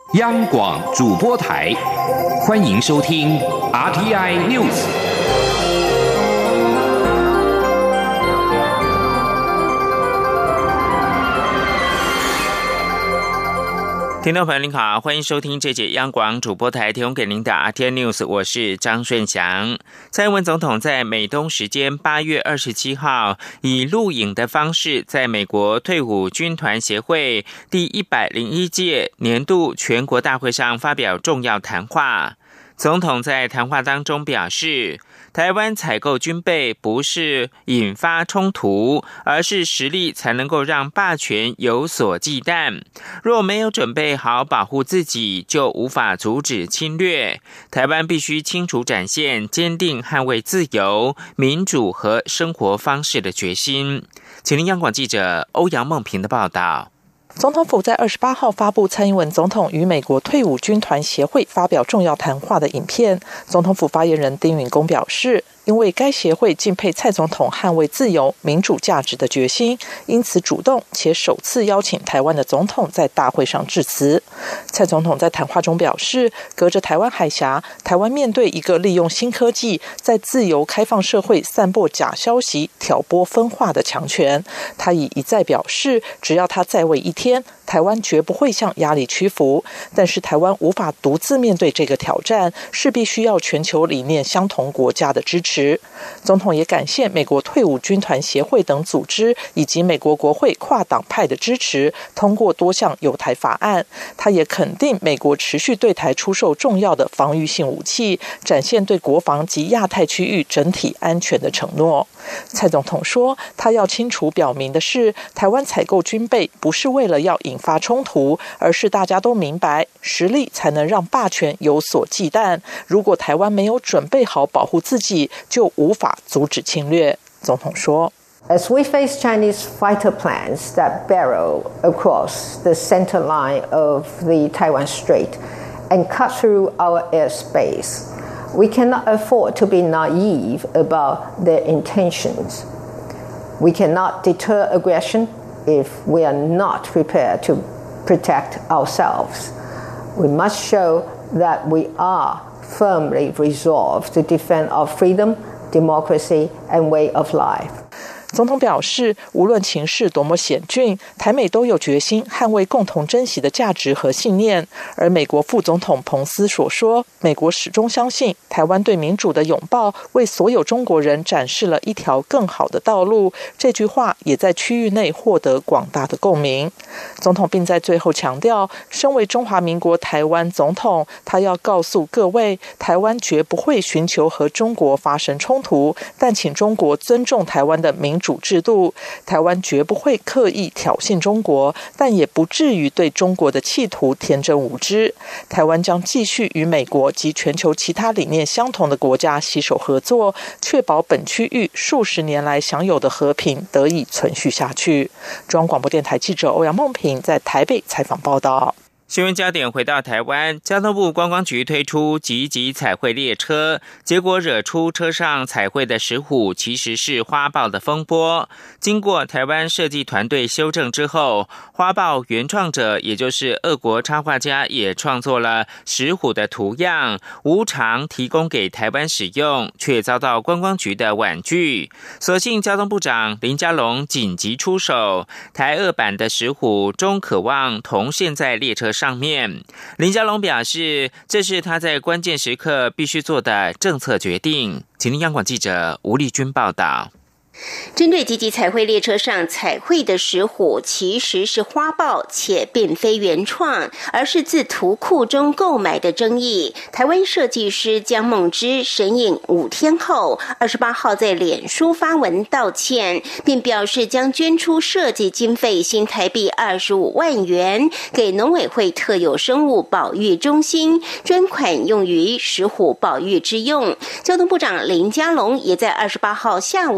央广主播台，欢迎收听 RTI News。 听众朋友您好，欢迎收听这节央广主播台提供给您的 RTI News， 我是张顺祥。蔡英文总统在美东时间8月27号以录影的方式，在美国退伍军团协会第101届年度全国大会上发表重要谈话。总统在谈话当中表示，台湾采购军备不是引发冲突，而是实力才能够让霸权有所忌惮。若没有准备好保护自己，就无法阻止侵略。台湾必须清楚展现坚定捍卫自由、民主和生活方式的决心。请听央广记者欧阳梦平的报道。 总统府在28号发布蔡英文总统与美国退伍军团协会发表重要谈话的影片。总统府发言人丁允恭表示，因为该协会敬佩蔡总统捍卫自由、民主价值的决心，因此主动且首次邀请台湾的总统在大会上致辞。蔡总统在谈话中表示，隔着台湾海峡，台湾面对一个利用新科技在自由开放社会散播假消息、挑拨分化的强权。他已一再表示，只要他在位一天，台湾绝不会向压力屈服。但是台湾无法独自面对这个挑战，势必需要全球理念相同国家的支持。总统也感谢美国退伍军团协会等组织以及美国国会跨党派的支持，通过多项友台法案。他也肯定美国持续对台出售重要的防御性武器，展现对国防及亚太区域整体安全的承诺。蔡总统说，他要清楚表明的是，台湾采购军备不是为了要引发冲突，而是大家都明白，实力才能让霸权有所忌惮。如果台湾没有准备好保护自己，就无法阻止侵略。总统说， As we face Chinese fighter planes that barrel across the center line of the Taiwan Strait and cut through our airspace, we cannot afford to be naive about their intentions. We cannot deter aggression if we are not prepared to protect ourselves. We must show that we are firmly resolved to defend our freedom, democracy, and way of life. 总统表示，无论情势多么险峻，台美都有决心捍卫共同珍惜的价值和信念。而美国副总统彭斯所说，美国始终相信台湾对民主的拥抱为所有中国人展示了一条更好的道路，这句话也在区域内获得广大的共鸣。总统并在最后强调，身为中华民国台湾总统，他要告诉各位，台湾绝不会寻求和中国发生冲突，但请中国尊重台湾的民主制度。台湾绝不会刻意挑衅中国，但也不至于对中国的企图天真无知。台湾将继续与美国及全球其他理念相同的国家携手合作，确保本区域数十年来享有的和平得以存续下去。中央广播电台记者欧阳梦平在台北采访报道。 新闻焦点回到台湾，交通部观光局推出集集彩绘列车，结果惹出车上彩绘的石虎其实是花豹的风波。经过台湾设计团队修正之后，花豹原创者也就是俄国插画家也创作了石虎的图样，无偿提供给台湾使用，却遭到观光局的婉拒。所幸交通部长林佳龙紧急出手，台俄版的石虎终可望同现在列车上面。林佳龙表示，这是他在关键时刻必须做的政策决定。请听央广记者吴丽君报道。 针对集集彩绘列车上彩绘的石虎其实是花豹，且并非原创，而是自图库中购买的争议，台湾设计师江梦之神隐5天后28号在脸书发文道歉，并表示将捐出设计经费新台币25万元给农委会特有生物保育中心，专款用于石虎保育之用。交通部长林佳龙也在28号下午受访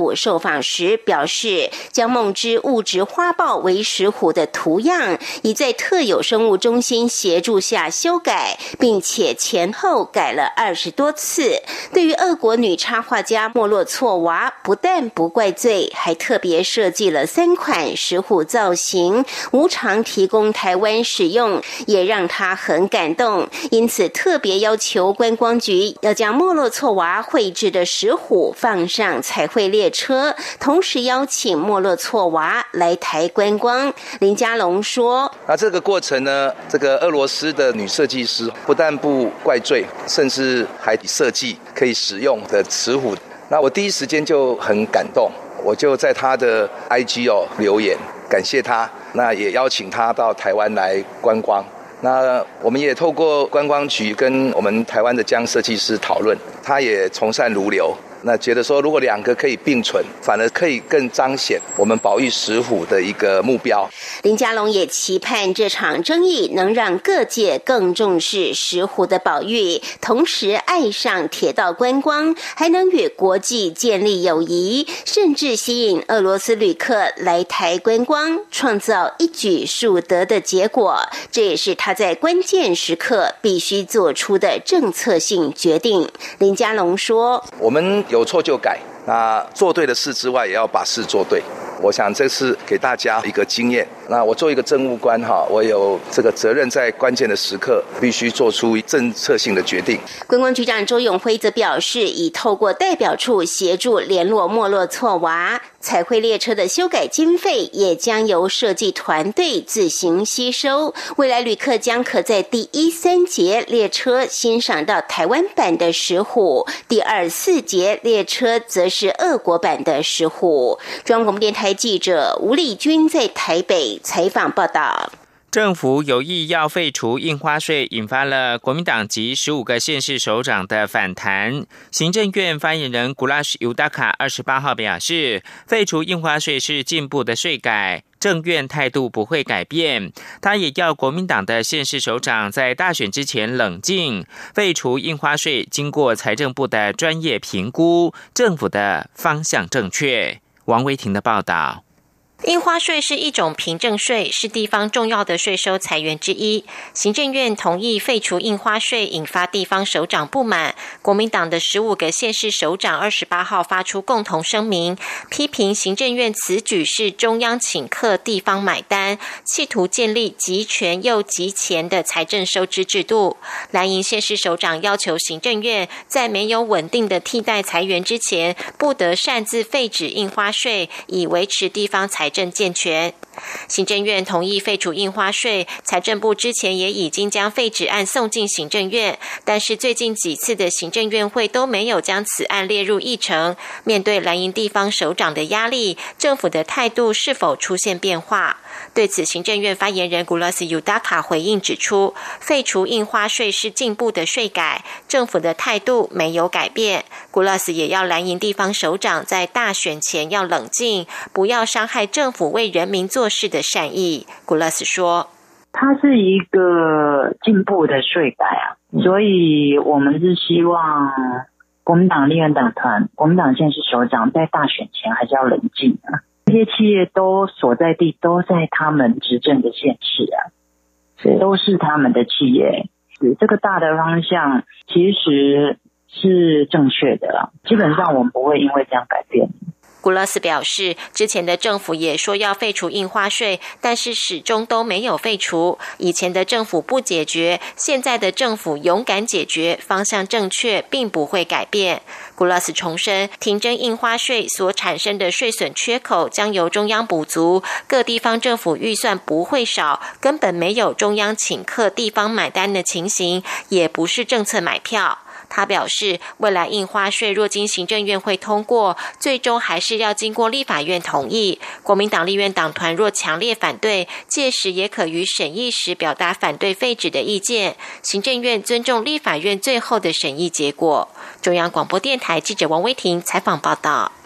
访时表示，将梦之物质花豹为石虎的图样，已在特有生物中心协助下修改，并且前后改了20多次。对于俄国女插画家莫洛措娃，不但不怪罪，还特别设计了3款石虎造型，无偿提供台湾使用，也让她很感动。因此特别要求观光局要将莫洛措娃绘制的石虎放上彩绘列车，同时邀请莫洛措娃来台观光。林佳龙说， 那这个过程呢，这个俄罗斯的女设计师不但不怪罪，甚至还设计可以使用的石虎。那我第一时间就很感动，我就在他的 IG 留言感谢他，那也邀请他到台湾来观光。那我们也透过观光局跟我们台湾的江设计师讨论，他也从善如流，那觉得说如果2个可以并存，反而可以更彰显我们保育石虎的一个目标。 林佳龙也期盼这场争议能让各界更重视石虎的保育，同时爱上铁道观光，还能与国际建立友谊，甚至吸引俄罗斯旅客来台观光，创造一举数得的结果。这也是他在关键时刻必须做出的政策性决定。林佳龙说， 我们有错就改，那做对的事之外也要把事做对，我想这是给大家一个经验。那我做一个政务官我有这个责任，在关键的时刻必须做出政策性的决定。 观光局长周永辉则表示，已透过代表处协助联络莫洛措娃，彩绘列车的修改经费也将由设计团队自行吸收。未来旅客将可在第1、3节列车欣赏到台湾版的石虎，第2、4节列车则是俄国版的石虎。中央广播电台记者吴丽君在台北采访报道。 政府有意要废除印花税，引发了国民党及15个县市首长的反弹。行政院发言人 Gulash Yudaka 28号表示，废除印花税是进步的税改，政院态度不会改变。他也要国民党的县市首长在大选之前冷静，废除印花税经过财政部的专业评估，政府的方向正确。王维婷的报道。 印花税是一种凭证税，是地方重要的税收财源之一。行政院同意废除印花税，引发地方首长不满。国民党的15个县市首长28号发出共同声明，批评行政院此举是中央请客，地方买单，企图建立集权又集钱的财政收支制度。蓝营县市首长要求行政院在没有稳定的替代财源之前，不得擅自废止印花税，以维持地方财政健全。行政院同意废除印花税，财政部之前也已经将废止案送进行政院，但是最近几次的行政院会都没有将此案列入议程。面对蓝营地方首长的压力，政府的态度是否出现变化？对此，行政院发言人 Gulash Yudaka 回应指出，废除印花税是进步的税改，政府的态度没有改变。Gulash 也要蓝营地方首长在大选前要冷静，不要伤害政府为人民做事的善意。Gulash 说， 它是一个进步的税改所以我们是希望国民党立院党团、国民党县市首长在大选前还是要冷静这些企业都所在地都在他们执政的县市都是他们的企业，这个大的方向其实是正确的基本上我们不会因为这样改变。 Gulash 表示，之前的政府也说要废除印花税，但是始终都没有废除。以前的政府不解决，现在的政府勇敢解决，方向正确，并不会改变。Gulash 重申，停征印花税所产生的税损缺口将由中央补足，各地方政府预算不会少，根本没有中央请客地方买单的情形，也不是政策买票。他表示，未来印花税若经行政院会通过，最终还是要经过立法院同意。国民党立院党团若强烈反对，届时也可于审议时表达反对废止的意见。行政院尊重立法院最后的审议结果。中央广播电台记者王威婷采访报道。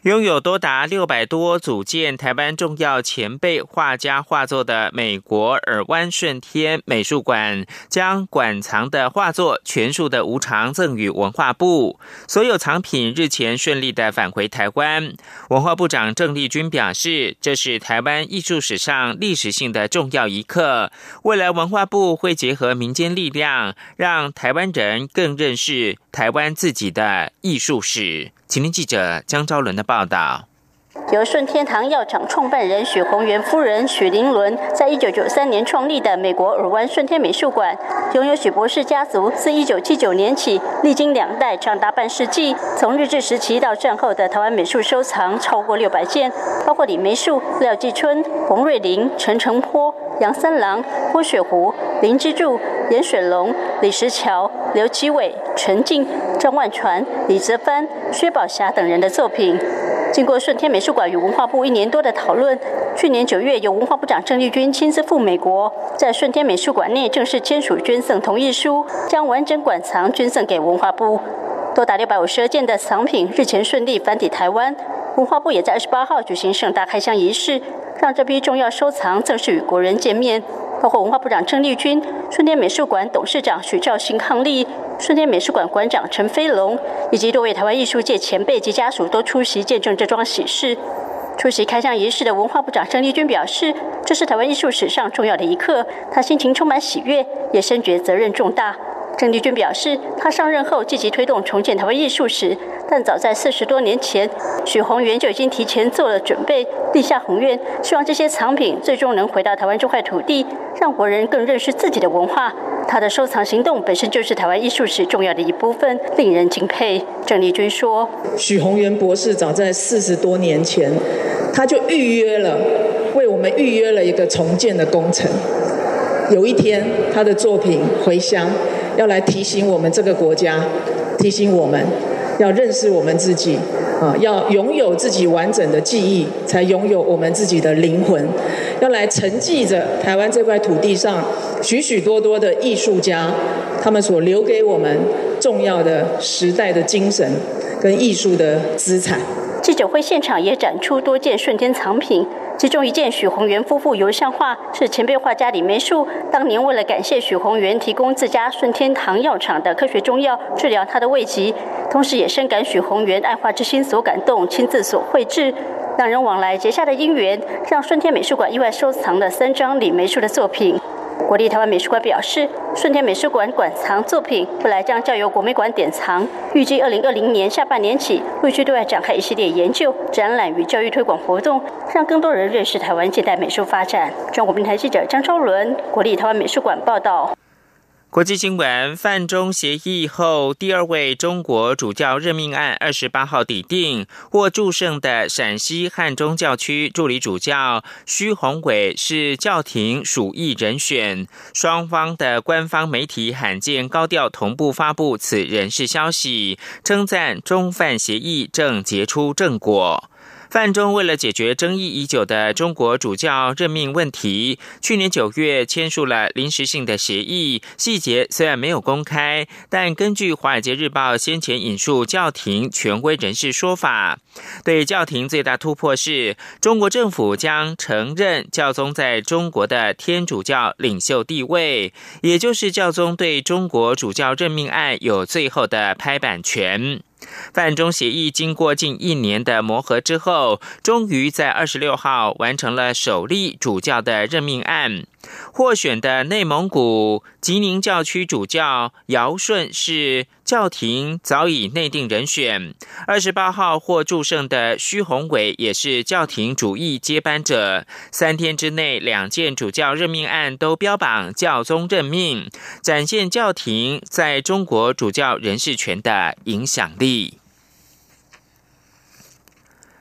拥有多达600多组建台湾重要前辈画家画作的美国尔湾顺天美术馆，将馆藏的画作全数的无偿赠予文化部。所有藏品日前顺利的返回台湾。文化部长郑丽君表示，这是台湾艺术史上历史性的重要一刻。未来文化部会结合民间力量，让台湾人更认识台湾自己的艺术史。请听记者江昭伦的报道。 由顺天堂药厂创办人许宏源夫人许玲伦在1993年创立的美国尔湾顺天美术馆，拥有许博士家族自1979年起历经2代长达半世纪，从日治时期到战后的台湾美术收藏超过600件，包括李梅树、廖继春、洪瑞麟、陈澄波、杨三郎、郭雪湖、林之助、严水龙、李石桥、刘基伟、陈静、张万传、李泽藩、薛宝霞等人的作品。经过顺天美术馆与文化部1年多的讨论，去年9月由文化部长郑丽君亲自赴美国，在顺天美术馆内正式签署捐赠同意书，将完整馆藏捐赠给文化部。多达652件的藏品日前顺利返抵台湾，文化部也在28号举行盛大开箱仪式，让这批重要收藏正式与国人见面。包括文化部长郑丽君、顺天美术馆董事长许兆兴伉俪、顺天美术馆馆长陈飞龙以及多位台湾艺术界前辈及家属都出席见证这桩喜事。出席开箱仪式的文化部长郑丽君表示，这是台湾艺术史上重要的一刻，他心情充满喜悦，也深觉责任重大。郑丽君表示，他上任后积极推动重建台湾艺术史，但早在40多年前，许宏源就已经提前做了准备，立下宏愿，希望这些藏品最终能回到台湾这块土地，让国人更认识自己的文化。他的收藏行动本身就是台湾艺术史重要的一部分，令人敬佩。郑丽君说， 许宏源博士早在40多年前，他就为我们预约了一个重建的工程。有一天，他的作品回乡，要来提醒我们这个国家，提醒我们要认识我们自己，要拥有自己完整的记忆，才拥有我们自己的灵魂。要来承继着台湾这块土地上许许多多的艺术家，他们所留给我们重要的时代的精神跟艺术的资产。 记者会现场也展出多件顺天藏品，其中一件许宏源夫妇油像画是前辈画家李梅树当年为了感谢许宏源提供自家顺天堂药厂的科学中药治疗他的胃疾，同时也深感许宏源爱画之心所感动，亲自所绘制。两人往来结下的姻缘，让顺天美术馆意外收藏了3张李梅树的作品。国立台湾美术馆表示，顺天美术馆馆藏作品未来将交由国美馆典藏，预计2020年下半年起陆续对外展开一系列研究、展览与教育推广活动，让更多人认识台湾现代美术发展。中国电台记者张昭伦，国立台湾美术馆报道。 国际新闻：梵中协议后第2位中国主教任命案28号抵定，获祝圣的陕西汉中教区助理主教徐宏伟是教廷属意人选。双方的官方媒体罕见高调同步发布此人事消息，称赞中梵协议正结出正果。梵中为了解决争议已久的中国主教任命问题，去年9月签署了临时性的协议，细节虽然没有公开，但根据《华尔街日报》先前引述教廷权威人士说法，对教廷最大突破是中国政府将承认教宗在中国的天主教领袖地位，也就是教宗对中国主教任命案有最后的拍板权。梵中协议经过近1年的磨合之后，终于在26号完成了首例主教的任命案。获选的内蒙古吉宁教区主教姚顺是教廷早已内定人选。28号获祝圣的徐宏伟也是教廷主意接班者。3天之内2件主教任命案都标榜教宗任命，展现教廷在中国主教人事权的影响力。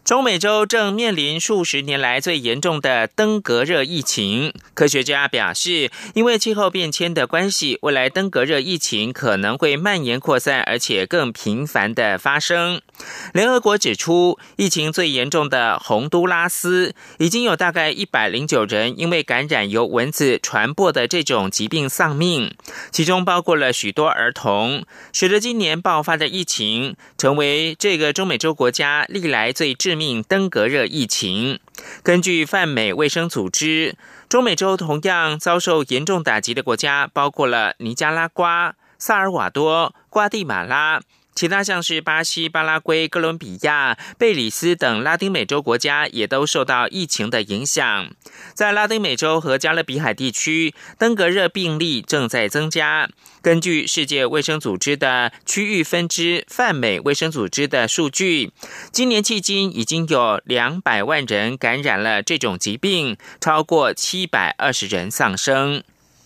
中美洲正面临数十年来最严重的登革热疫情。科学家表示，因为气候变迁的关系，未来登革热疫情可能会蔓延扩散，而且更频繁的发生。联合国指出，疫情最严重的洪都拉斯已经有大概109人因为感染由蚊子传播的这种疾病丧命，其中包括了许多儿童，使得今年爆发的疫情成为这个中美洲国家历来最致命登革热疫情。根据泛美卫生组织，中美洲同样遭受严重打击的国家包括了尼加拉瓜、萨尔瓦多、瓜地马拉，其他像是巴西、巴拉圭、哥伦比亚、贝里斯等拉丁美洲国家也都受到疫情的影响。在拉丁美洲和加勒比海地区，登革热病例正在增加。根据世界卫生组织的区域分支泛美卫生组织的数据，今年迄今已经有200万人感染了这种疾病，超过720人丧生。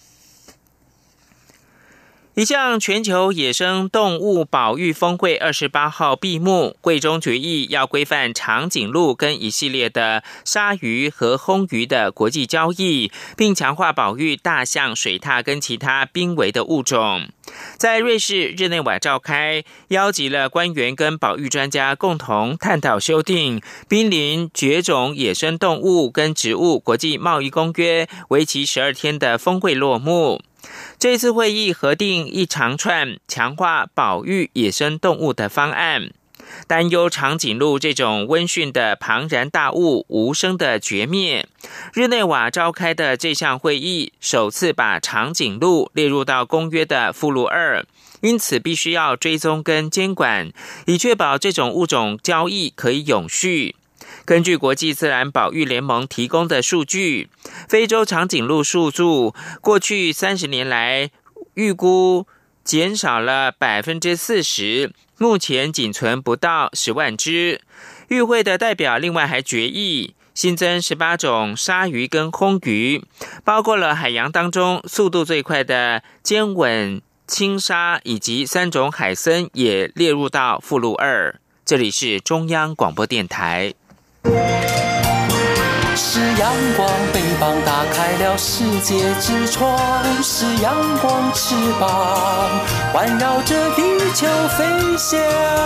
一项全球野生动物保育峰会28号闭幕，会中决议要规范长颈鹿跟一系列的鲨鱼和魟鱼的国际交易，并强化保育大象、水獭跟其他濒危的物种。在瑞士日内瓦召开，邀集了官员跟保育专家共同探讨修订濒临绝种野生动物跟植物国际贸易公约，为期12天的峰会落幕。这次会议核定一长串强化保育野生动物的方案，担忧长颈鹿这种温驯的庞然大物无声的绝灭。日内瓦召开的这项会议首次把长颈鹿列入到公约的附录2，因此必须要追踪跟监管，以确保这种物种交易可以永续。根据国际自然保育联盟提供的数据，非洲长颈鹿数数过去30年来预估减少了 40%， 目前仅存不到10万只。与会的代表另外还决议新增18种鲨鱼跟魟鱼，包括了海洋当中速度最快的尖吻青鲨，以及3种海参也列入到附录2。这里是中央广播电台。 是阳光，翅膀打开了世界之窗，是阳光翅膀环绕着地球飞翔。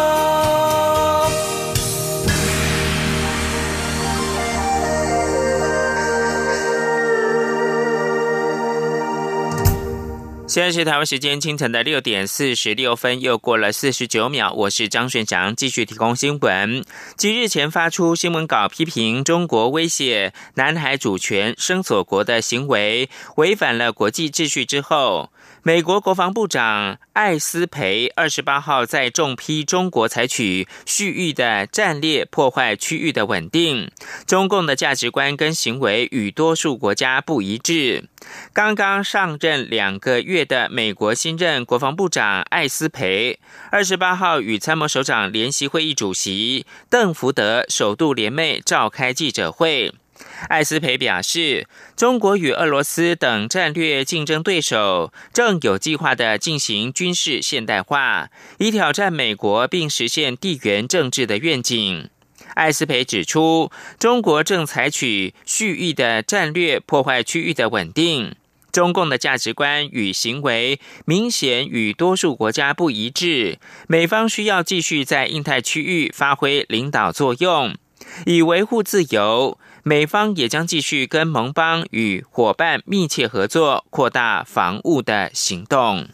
现在是台湾时间清晨的6点46分，又过了49秒。我是张顺祥，继续提供新闻。继日前发出新闻稿批评中国威胁南海主权、声索国的行为违反了国际秩序之后，美国国防部长艾斯培28号在重批中国采取蓄意的战略破坏区域的稳定，中共的价值观跟行为与多数国家不一致。刚刚上任2个月的美国新任国防部长艾斯培28号与参谋首长联席会议主席邓福德首度联袂召开记者会。艾斯培表示，中国与俄罗斯等战略竞争对手正有计划地进行军事现代化，以挑战美国并实现地缘政治的愿景。艾斯培指出，中国正采取蓄意的战略破坏区域的稳定，中共的价值观与行为明显与多数国家不一致，美方需要继续在印太区域发挥领导作用，以维护自由。美方也将继续跟盟邦与伙伴密切合作，扩大防务的行动。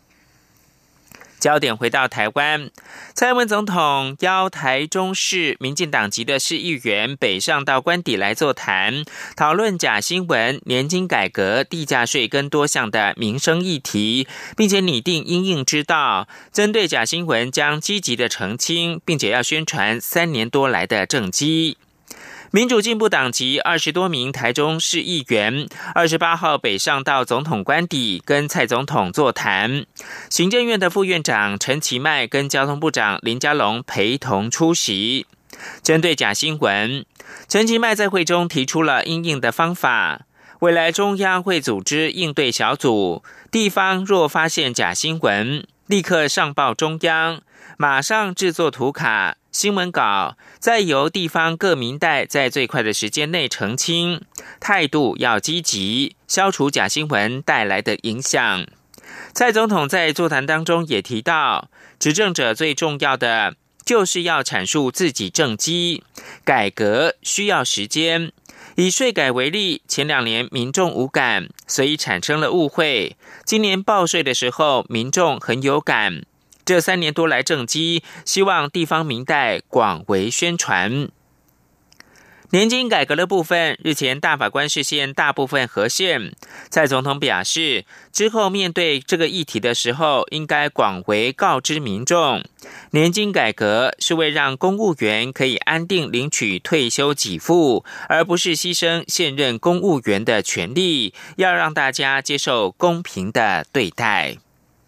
焦点回到台湾，蔡英文总统邀台中市民进党籍的市议员北上到官邸来座谈，讨论假新闻、年金改革、地价税跟多项的民生议题，并且拟定因应之道，针对假新闻将积极的澄清，并且要宣传3年多来的政绩。民主进步党籍20多名台中市议员28号北上到总统官邸跟蔡总统座谈，行政院的副院长陈其迈跟交通部长林佳龙陪同出席。针对假新闻，陈其迈在会中提出了因应的方法，未来中央会组织应对小组，地方若发现假新闻，立刻上报中央， 马上制作图卡、新闻稿，再由地方各民代在最快的时间内澄清，态度要积极，消除假新闻带来的影响。蔡总统在座谈当中也提到，执政者最重要的就是要阐述自己政绩，改革需要时间。以税改为例，前2年民众无感，所以产生了误会。今年报税的时候，民众很有感。这3年多来政绩，希望地方民代广为宣传。年金改革的部分，日前大法官释宪大部分合宪。蔡总统表示，之后面对这个议题的时候，应该广为告知民众。年金改革是为让公务员可以安定领取退休给付，而不是牺牲现任公务员的权利，要让大家接受公平的对待。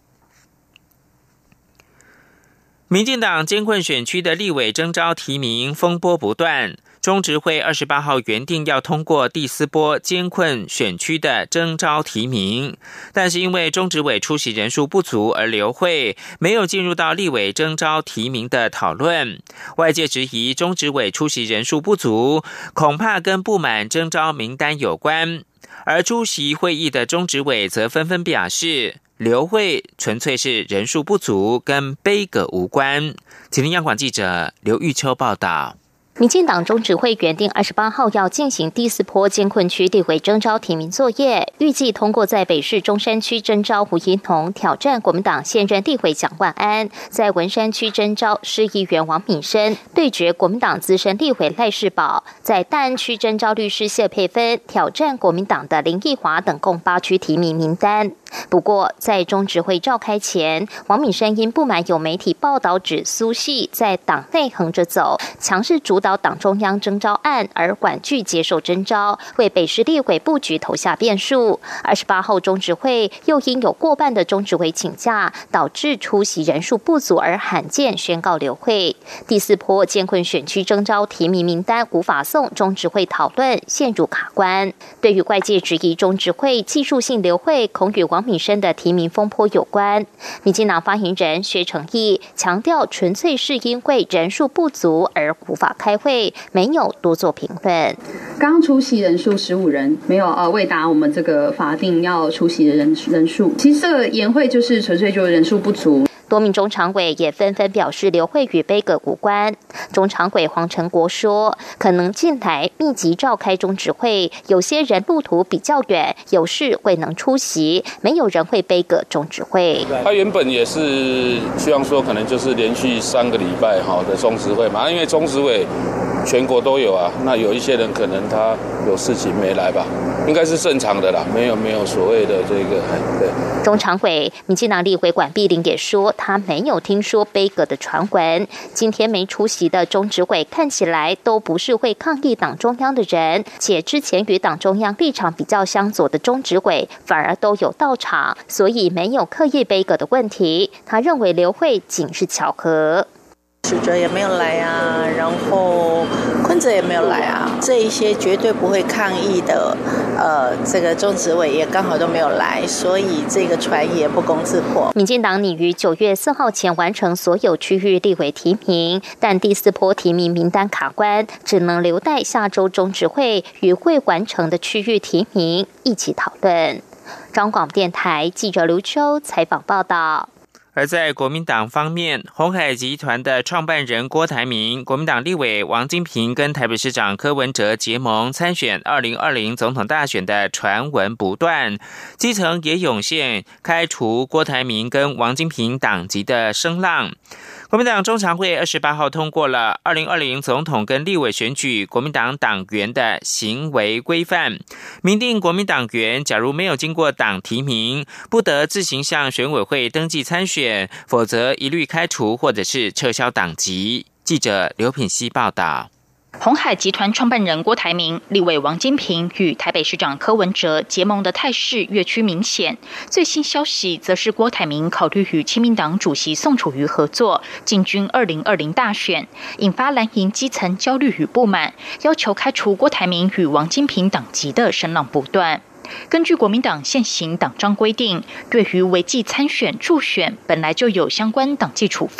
民进党艰困选区的立委征召提名风波不断，中执会28号原定要通过第4波艰困选区的征召提名，但是因为中执委出席人数不足而流会，没有进入到立委征召提名的讨论。外界质疑中执委出席人数不足，恐怕跟不满征召名单有关，而出席会议的中执委则纷纷表示，流会纯粹是人数不足，跟杯葛无关。请听央广记者刘玉秋报道。 民进党中执会原定28号要进行第4波艰困区立委征召提名作业，预计通过在北市中山区征召胡怡农挑战国民党现任立委蒋万安，在文山区征召市议员王敏生对决国民党资深立委赖士葆，在大安区征召律师谢佩芬挑战国民党的林奕华等共8区提名名单。不过，在中执会召开前，王敏生因不满有媒体报道指苏系在党内横着走，强势主导党中央征召案而婉拒接受征召，为北市立委布局投下变数。28号中执会又因有过半的中执委请假，导致出席人数不足而罕见宣告流会。第4波艰困选区征召提名名单无法送中执会讨论，陷入卡关。对于外界质疑中执会技术性流会恐与王敏生的提名风波有关，民进党发言人薛成义强调，纯粹是因为人数不足而无法开会，没有多做评论。 刚出席人数15人，没有未达我们这个法定要出席的人数。其实这个研会就是纯粹就是人数不足。 多名中常委也纷纷表示流会与杯葛无关。中常委黄成国说，可能近来密集召开中执会，有些人路途比较远，有事未能出席，没有人会杯葛中执会。 他原本也是希望说，可能就是连续3个礼拜的中执会嘛，因为中执委全国都有啊，那有一些人可能他有事情没来吧，应该是正常的啦，没有所谓的这个对。 中常委民进党立委管碧玲也说，他没有听说杯葛的传闻。今天没出席的中执委看起来都不是会抗议党中央的人，且之前与党中央立场比较相左的中执委反而都有到场，所以没有刻意杯葛的问题。他认为流会仅是巧合。 许哲也没有来啊，然后坤哲也没有来啊，这一些绝对不会抗议的，这个中执委也刚好都没有来，所以这个传也不攻自破。 民进党拟于9月4号前完成所有区域立委提名，但第4波提名名单卡关，只能留待下周中执会与未完成的区域提名一起讨论。中广电台记者刘秋采访报道。 而在国民党方面，鸿海集团的创办人郭台铭、国民党立委王金平跟台北市长柯文哲结盟参选2020总统大选的传闻不断，基层也涌现开除郭台铭跟王金平党籍的声浪。国民党中常会28号通过了2020总统跟立委选举国民党党员的行为规范，明定国民党员假如没有经过党提名，不得自行向选委会登记参选，否则一律开除或者是撤销党籍。记者刘品希报道。 鸿海集团创办人郭台铭、立委王金平与台北市长柯文哲结盟的态势越趋明显。最新消息则是郭台铭考虑与亲民党主席宋楚瑜合作，进军2020大选，引发蓝营基层焦虑与不满，要求开除郭台铭与王金平党籍的声浪不断。根据国民党现行党章规定，对于违纪参选、助选本来就有相关党纪处分。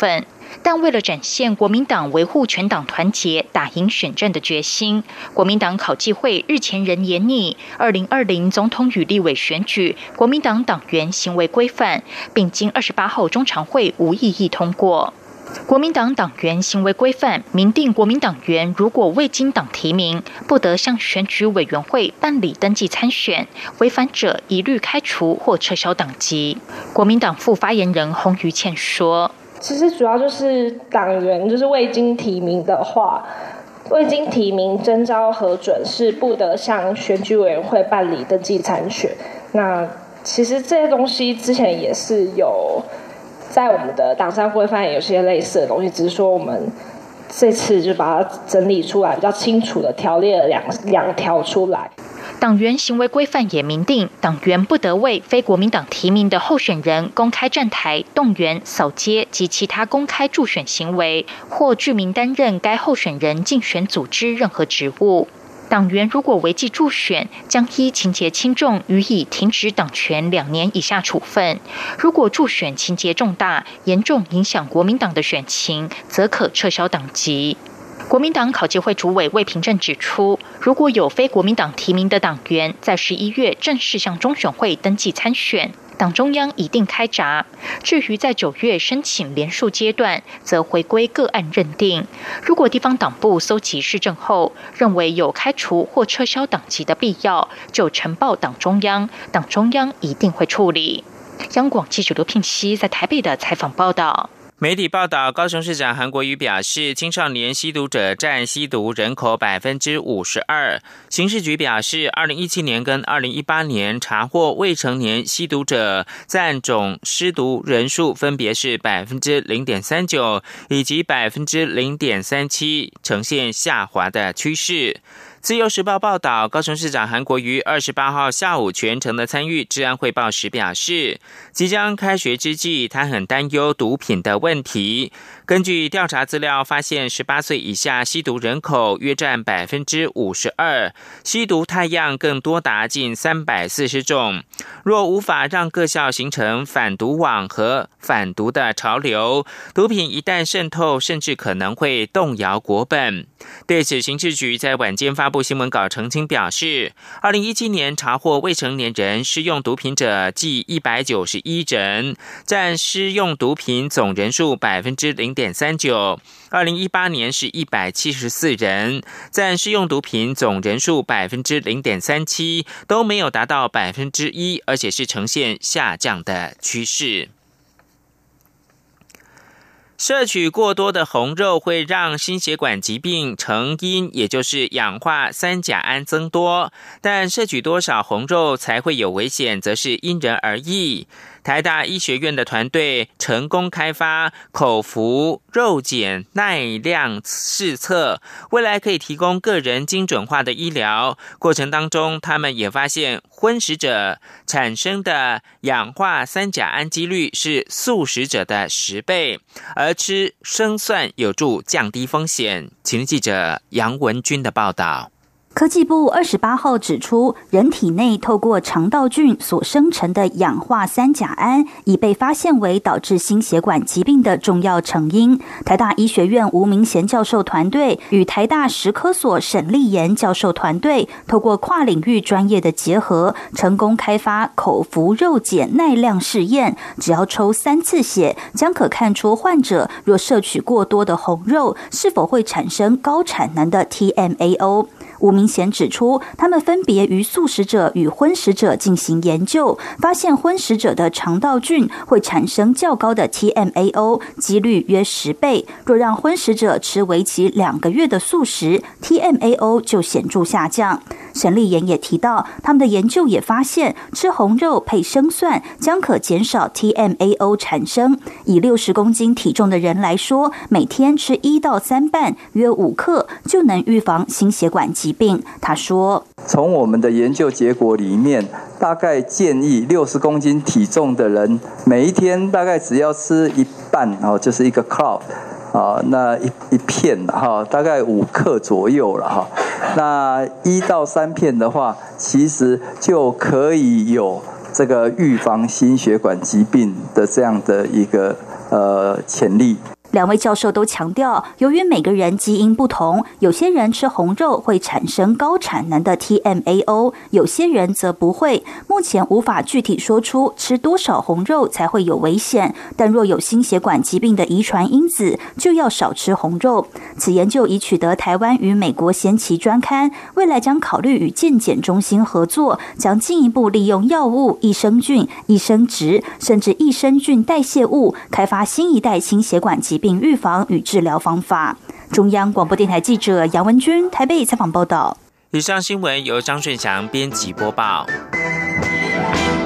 但为了展现国民党维护全党团结、打赢选战的决心，国民党考纪会日前仍研拟2020总统与立委选举国民党党员行为规范，并经28号中常会无异议通过。国民党党员行为规范明定，国民党员如果未经党提名，不得向选举委员会办理登记参选，违反者一律开除或撤销党籍。国民党副发言人洪于倩说：“ 其实主要就是党员就是未经提名的话，未经提名征召核准是不得向选举委员会办理登记参选。那其实这些东西之前也是有。”在我们的党章规范也有些类似的东西，只是说我们这次就把它整理出来，比较清楚的条列了两条出来。 党员行为规范也明定，党员不得为非国民党提名的候选人公开站台、动员、扫街及其他公开助选行为，或具名担任该候选人竞选组织任何职务。党员如果违纪助选，将依情节轻重予以停止党权2年以下处分；如果助选情节重大，严重影响国民党的选情，则可撤销党籍。国民党考纪会主委魏平正指出，如果有非国民党提名的党员在11月正式向中选会登记参选，党中央一定开闸。至于在9月申请连署阶段，则回归个案认定。如果地方党部搜集市政后，认为有开除或撤销党籍的必要，就呈报党中央，党中央一定会处理。央广记者刘聘熙在台北的采访报道。 媒体报道，高雄市长韩国瑜表示，青少年吸毒者占吸毒人口 52%。刑事局表示，2017年跟2018年查获未成年吸毒者占总施毒人数分别是 0.39% 以及 0.37%， 呈现下滑的趋势。自由时报报道，高雄市长韩国瑜28号下午全程的参与治安汇报时表示，即将开学之际，他很担忧毒品的问题。根据调查资料发现，18岁以下吸毒人口约占 52%， 吸毒态样更多达近340种。若无法让各校形成反毒网和反毒的潮流，毒品一旦渗透，甚至可能会动摇国本。对此，刑事局在晚间发布新闻稿澄清表示，2017年查获未成年人施用毒品者计191人，占施用毒品总人数 0.39%。2018年是174人，占施用毒品总人数 0.37%， 都没有达到 1%， 而且是呈现下降的趋势。摄取过多的红肉会让心血管疾病成因，也就是氧化三甲胺增多，但摄取多少红肉才会有危险，则是因人而异。台大医学院的团队成功开发口服肉碱耐量试测，未来可以提供个人精准化的医疗。过程当中，他们也发现荤食者产生的氧化三甲胺几率是素食者的10倍，而吃生蒜有助降低风险。请听记者杨文君的报道。 科技部28号指出，人体内透过肠道菌所生成的氧化三甲胺已被发现为导致心血管疾病的重要成因。台大医学院吴明贤教授团队与台大食科所沈立妍教授团队透过跨领域专业的结合，成功开发口服肉碱耐量试验，只要抽3次血，将可看出患者若摄取过多的红肉，是否会产生高产能的 TMAO。吴明贤指出，他们分别于素食者与荤食者进行研究，发现荤食者的肠道菌会产生较高的 TMAO， 几率约10倍。若让荤食者吃为期2个月的素食， TMAO 就显著下降。沈立妍也提到，他们的研究也发现，吃红肉配生蒜将可减少 TMAO 产生。以60公斤体重的人来说，每天吃1到3瓣，约5克，就能预防心血管疾病。他说， 从我们的研究结果里面，大概建议60公斤体重的人，每一天大概只要吃1瓣，就是一个 cloud。那一片大概5克左右了那1到3片的话，其实就可以有这个预防心血管疾病的这样的一个潜力。 两位教授都强调，由于每个人基因不同，有些人吃红肉会产生高产能的 TMAO， 有些人则不会。目前无法具体说出吃多少红肉才会有危险，但若有心血管疾病的遗传因子，就要少吃红肉。此研究已取得台湾与美国先期专刊，未来将考虑与健检中心合作，将进一步利用药物、益生菌、益生质，甚至益生菌代谢物，开发新一代心血管疾病预防与治疗方法。中央广播电台记者杨文君台北采访报道。 以上新闻由张顺祥编辑播报。